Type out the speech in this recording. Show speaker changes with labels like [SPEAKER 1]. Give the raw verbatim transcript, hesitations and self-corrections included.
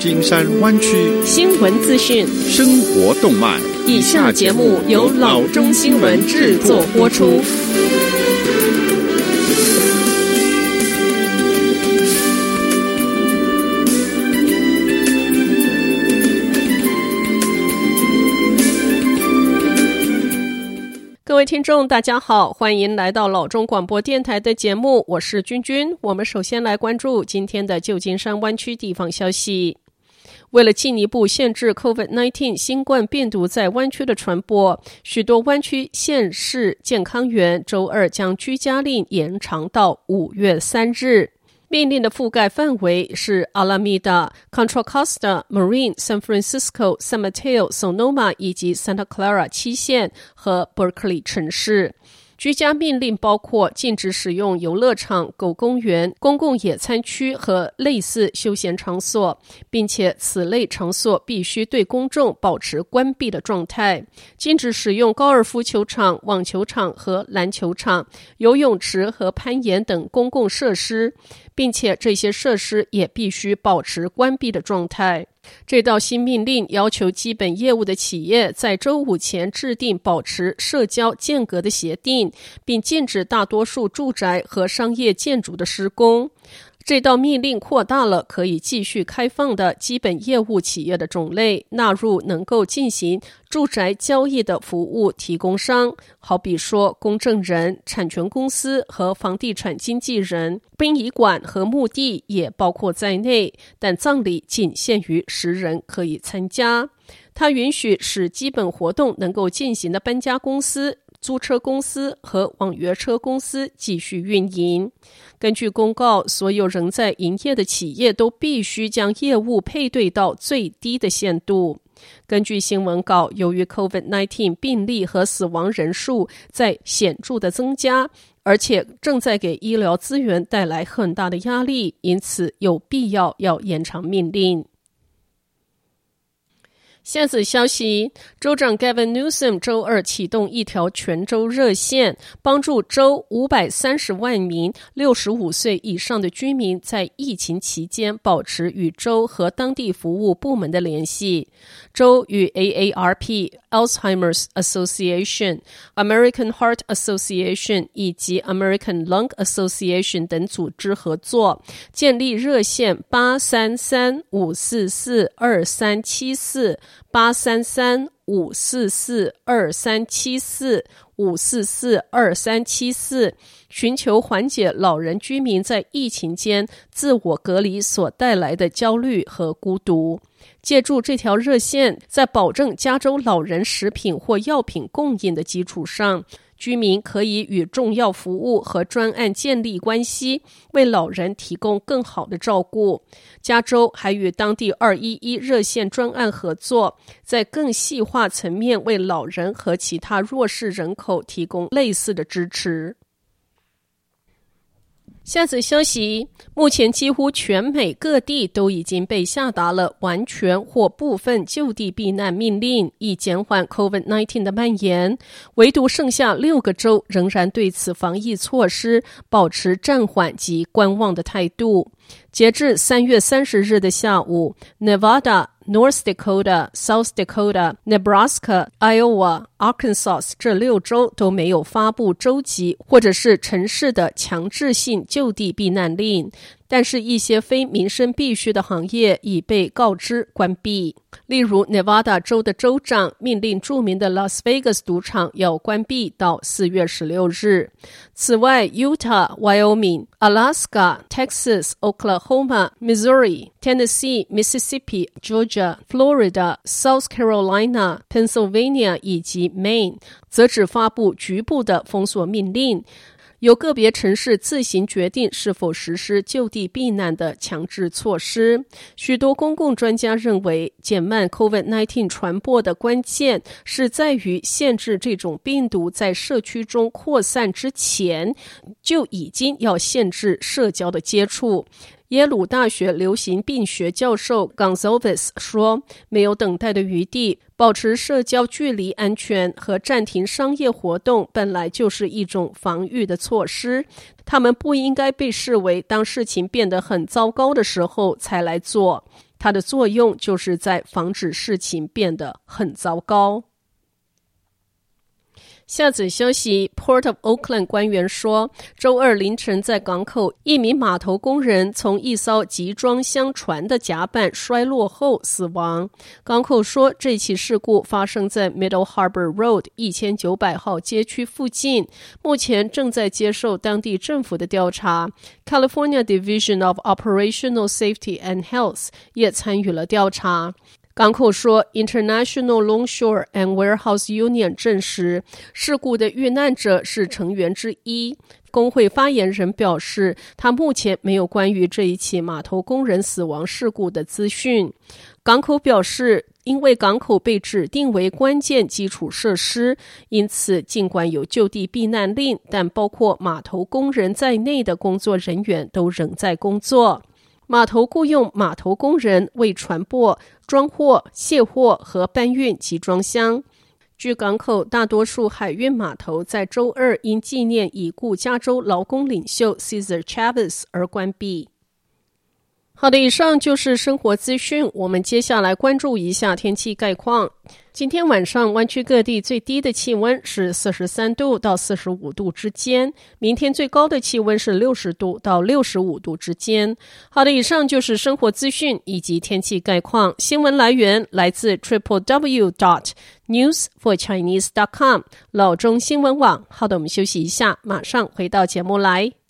[SPEAKER 1] 金山灣區
[SPEAKER 2] 新聞資訊、
[SPEAKER 1] 生活動脈。
[SPEAKER 2] 以下節目由老中新聞製作播出。各位聽眾大家好，歡迎來到老中廣播電台的節目，我是君君。我們首先來關注今天的舊金山灣區地方消息。為了進一步限制 COVID 十九 新冠病毒在灣區的傳播，許多灣區縣市健康員周二將居家令延長到五月三日。命令的覆蓋範圍是 Alameda、Contra Costa、Marin、San Francisco、San Mateo、Sonoma 以及 Santa Clara 七縣和 Berkeley 城市。居家命令包括禁止使用遊樂場、狗公園、公共野餐區和類似休閒場所，並且此類場所必須對公眾保持關閉的狀態。禁止使用高爾夫球場、網球場和籃球場、游泳池和攀岩等公共設施，並且這些設施也必須保持關閉的狀態。這道新命令要求基本業務的企業在週五前制定保持社交間隔的協定，並禁止大多數住宅和商業建築的施工。這道命令擴大了可以繼續開放的基本業務企業的種類，納入能夠進行住宅交易的服務提供商，好比說公證人、產權公司和房地產經紀人，殯儀館和墓地也包括在內，但葬禮僅限於十人可以參加。它允許使基本活動能夠進行的搬家公司、租車公司和網約車公司繼續運營。根據公告，所有仍在營業的企業都必須將業務配對到最低的限度。根據新聞稿，由於 COVID 十九 病例和死亡人數在顯著的增加，而且正在給醫療資源帶來很大的壓力，因此有必要要延長命令。下則消息，州長 Gavin Newsom 周二啟動一條全州熱線，幫助州五百三十萬名六十五歲以上的居民在疫情期間保持與州和當地服務部門的聯繫。州與 A A R P、Alzheimer's Association、American Heart Association 以及 American Lung Association 等組織合作，建立熱線八三三五四四二三七四八三三五四四二三七四五四四二三七四，尋求緩解老人居民在疫情間自我隔離所帶來的焦慮和孤獨。借助這條熱線，在保證加州老人食品或藥品供應的基礎上，居民可以與重要服務和專案建立關係，為老人提供更好的照顧。加州還與當地二一一熱線專案合作，在更細化層面為老人和其他弱勢人口提供類似的支持。下則消息，目前幾乎全美各地都已經被下達了完全或部分就地避難命令，以減緩 COVID 十九 的蔓延。唯獨剩下六個州仍然對此防疫措施保持暫緩及觀望的態度。截至三月三十日的下午， Nevada、North Dakota、South Dakota、Nebraska、Iowa、Arkansas 這六州都沒有發布州級或者是城市的強制性就地避難令，但是一些非民生必需的行業已被告知關閉。例如 Nevada 州的州長命令著名的 Las Vegas 賭場要關閉到四月十六日。此外 Utah、Wyoming、Alaska、Texas、Oklahoma、Missouri、Tennessee、Mississippi、Georgia、Florida、South Carolina、Pennsylvania 以及 Maine 則只發布局部的封鎖命令，由個別城市自行決定是否實施就地避難的強制措施。許多公共專家認為，減慢 COVID 十九 傳播的關鍵是在於限制這種病毒在社區中擴散之前，就已經要限制社交的接觸。耶魯大學流行病學教授 Gonzalez 說，沒有等待的餘地，保持社交距離安全和暫停商業活動本來就是一種防禦的措施，他們不應該被視為當事情變得很糟糕的時候才來做。 它的作用就是在防止事情變得很糟糕。下則消息 Port of Oakland 官員說，週二凌晨在港口，一名碼頭工人從一艘集裝箱船的甲板摔落後死亡。港口說，這起事故發生在 Middle Harbor Road 一千九百號街區附近，目前正在接受當地政府的調查。California Division of Operational Safety and Health 也參與了調查。港口說 International Longshore and Warehouse Union 證實事故的遇難者是成員之一。工會發言人表示，他目前沒有關於這一起碼頭工人死亡事故的資訊。港口表示，因為港口被指定為關鍵基礎設施，因此儘管有就地避難令，但包括碼頭工人在內的工作人員都仍在工作。碼頭僱用碼頭工人為船舶裝貨、卸貨和搬運集裝箱。據港口，大多數海運碼頭在周二因紀念已故加州勞工領袖 Cesar Chavez 而關閉。好的，以上就是生活資訊，我們接下來關注一下天氣概況。今天晚上灣區各地最低的氣溫是四十三度到四十五度之間，明天最高的氣溫是六十度到六十五度之間。好的，以上就是生活資訊以及天氣概況。新聞來源來自 triple w dot news for chinese dot com 老中新聞網。好的，我們休息一下，馬上回到節目來。